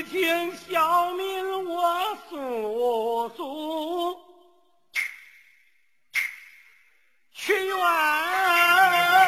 听小民我诉诉，屈原。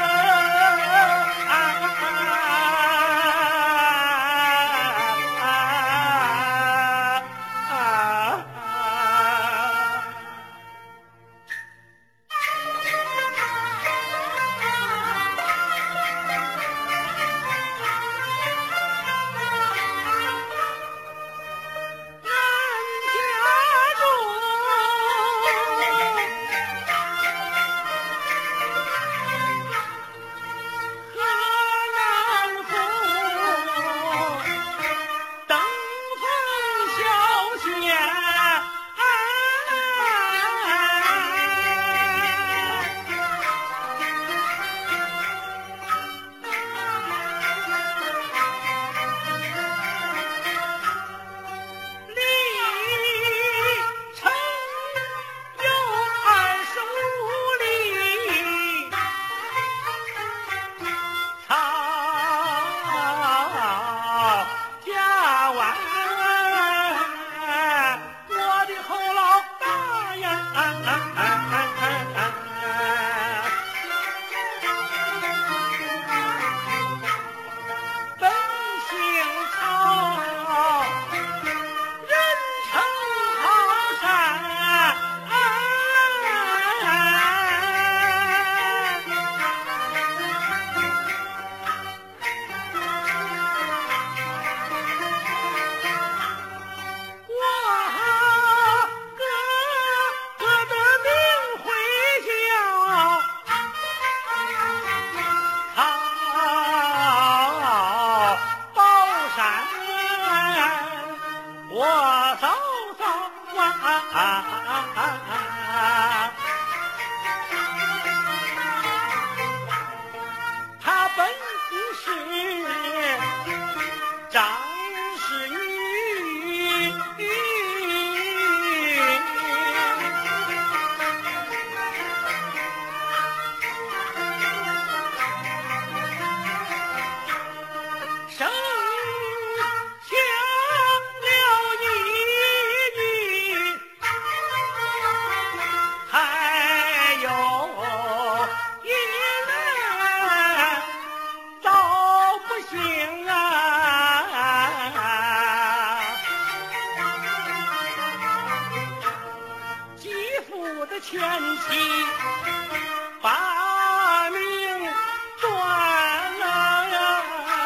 他本是张氏女，生下了一女，还有一男，早不行啊！继父的前妻把命断了呀！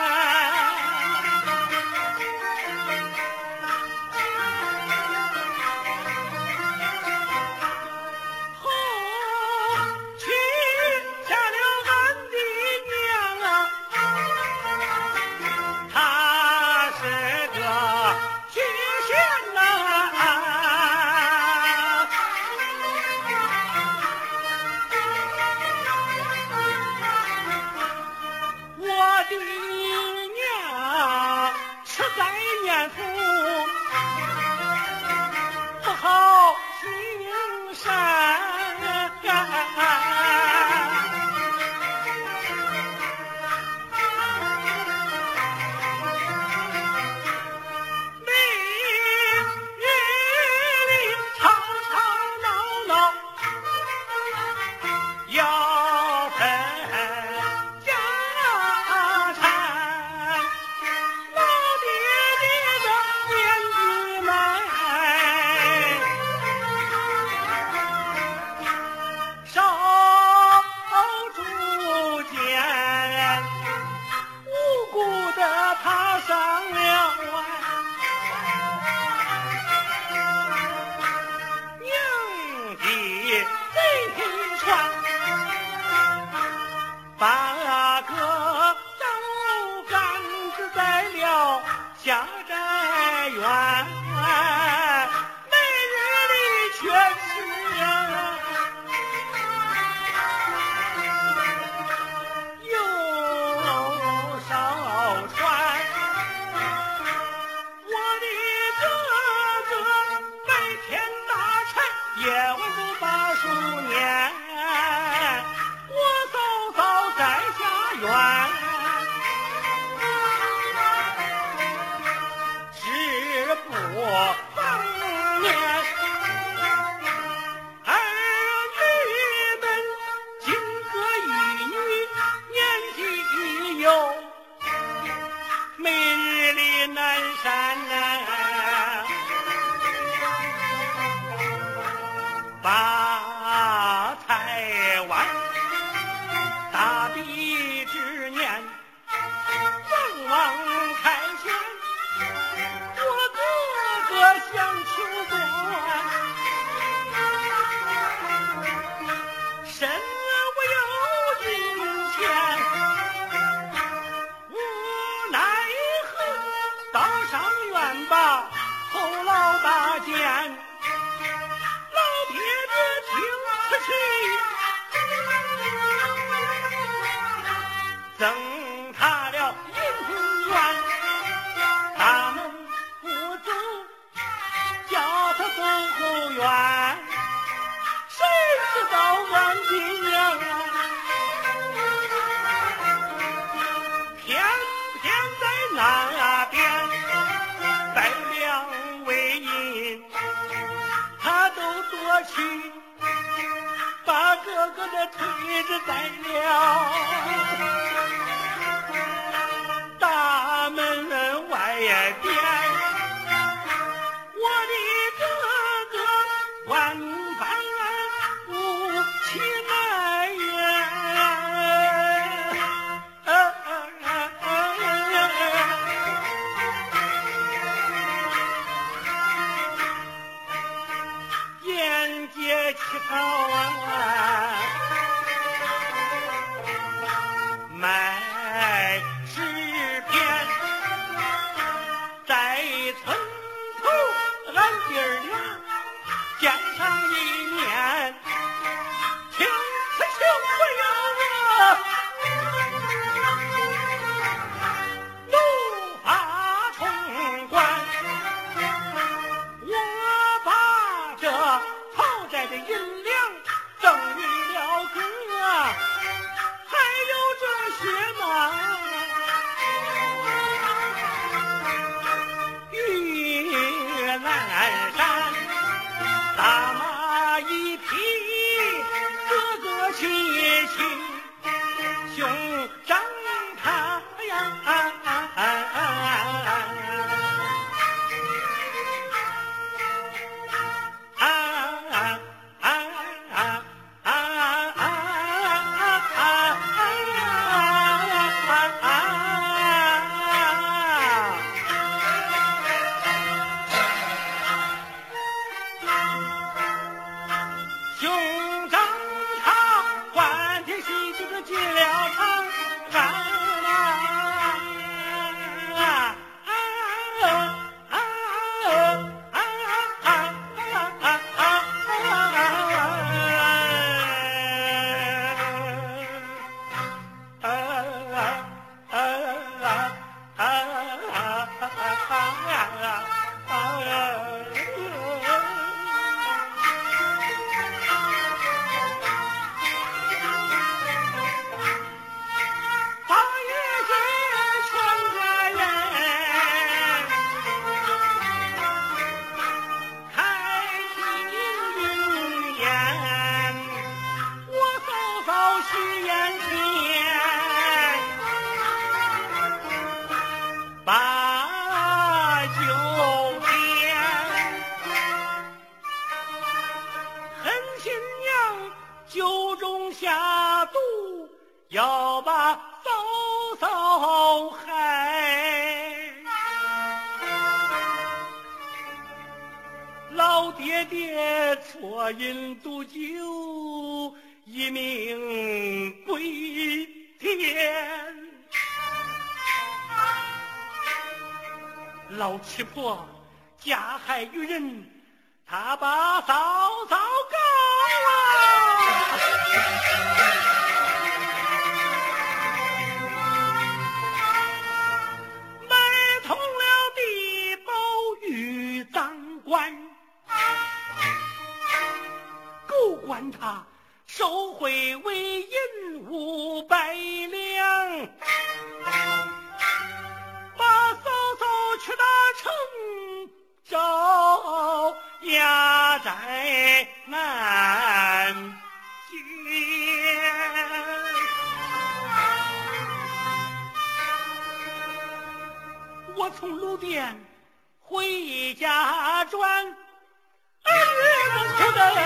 后娶下了俺的娘啊，她是个曲线呐。我的娘实在念父，不好行善。每日里吵吵闹闹，要分家产，老爹爹的年纪迈，少主见，无辜的他上了岸。娘的这匹船，把个刀杆子在了下寨院，每日里全是又少船。我的哥哥白天打柴，夜晚都把书念，我嫂嫂在下院，只山呐，把台湾大地之年，王王凯旋，我哥哥想求官，身无有银钱，无奈何道上愿把后老大见，老爹爹听此去，赠他了银元，大门不走，叫他走后院，谁知道俺爹呀，偏偏在那边带两位银，他都夺去，把哥哥的腿子宰了，大门外边我的哥哥万般无其奈沿街乞讨啊，卖纸片，在村头俺弟儿俩见上一面，请此求不要我怒发冲冠，我把这讨债的银两赠与了哥，还有这些嘛，玉兰山大马一匹，哥哥去兄长他呀，兄长他欢天喜地的进了长许愿前把酒点，狠心娘酒中下毒，要把嫂嫂害。老爹爹错饮毒酒，一命归天。老七婆加害于人，他把嫂嫂告啊！买通了地保与赃官，狗官他收回为银500两，把嫂嫂去打成招押在南京。 我从路边回家转，儿子哭得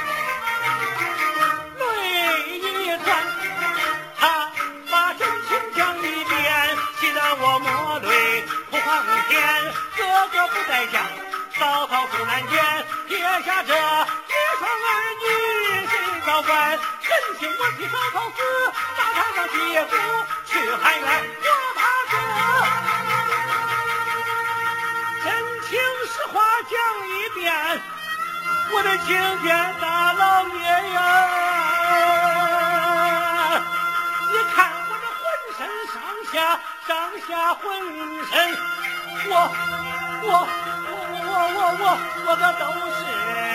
泪一转，他把真情讲一遍，气得我抹泪哭黄天。哥哥不在家，嫂嫂出南间，撇下这一双儿女谁保管？真情我替嫂嫂死，大堂上接骨去海远，我怕哥。真情实话讲一遍，我的亲天大老爷呀！你看我这浑身上下浑身，我可都是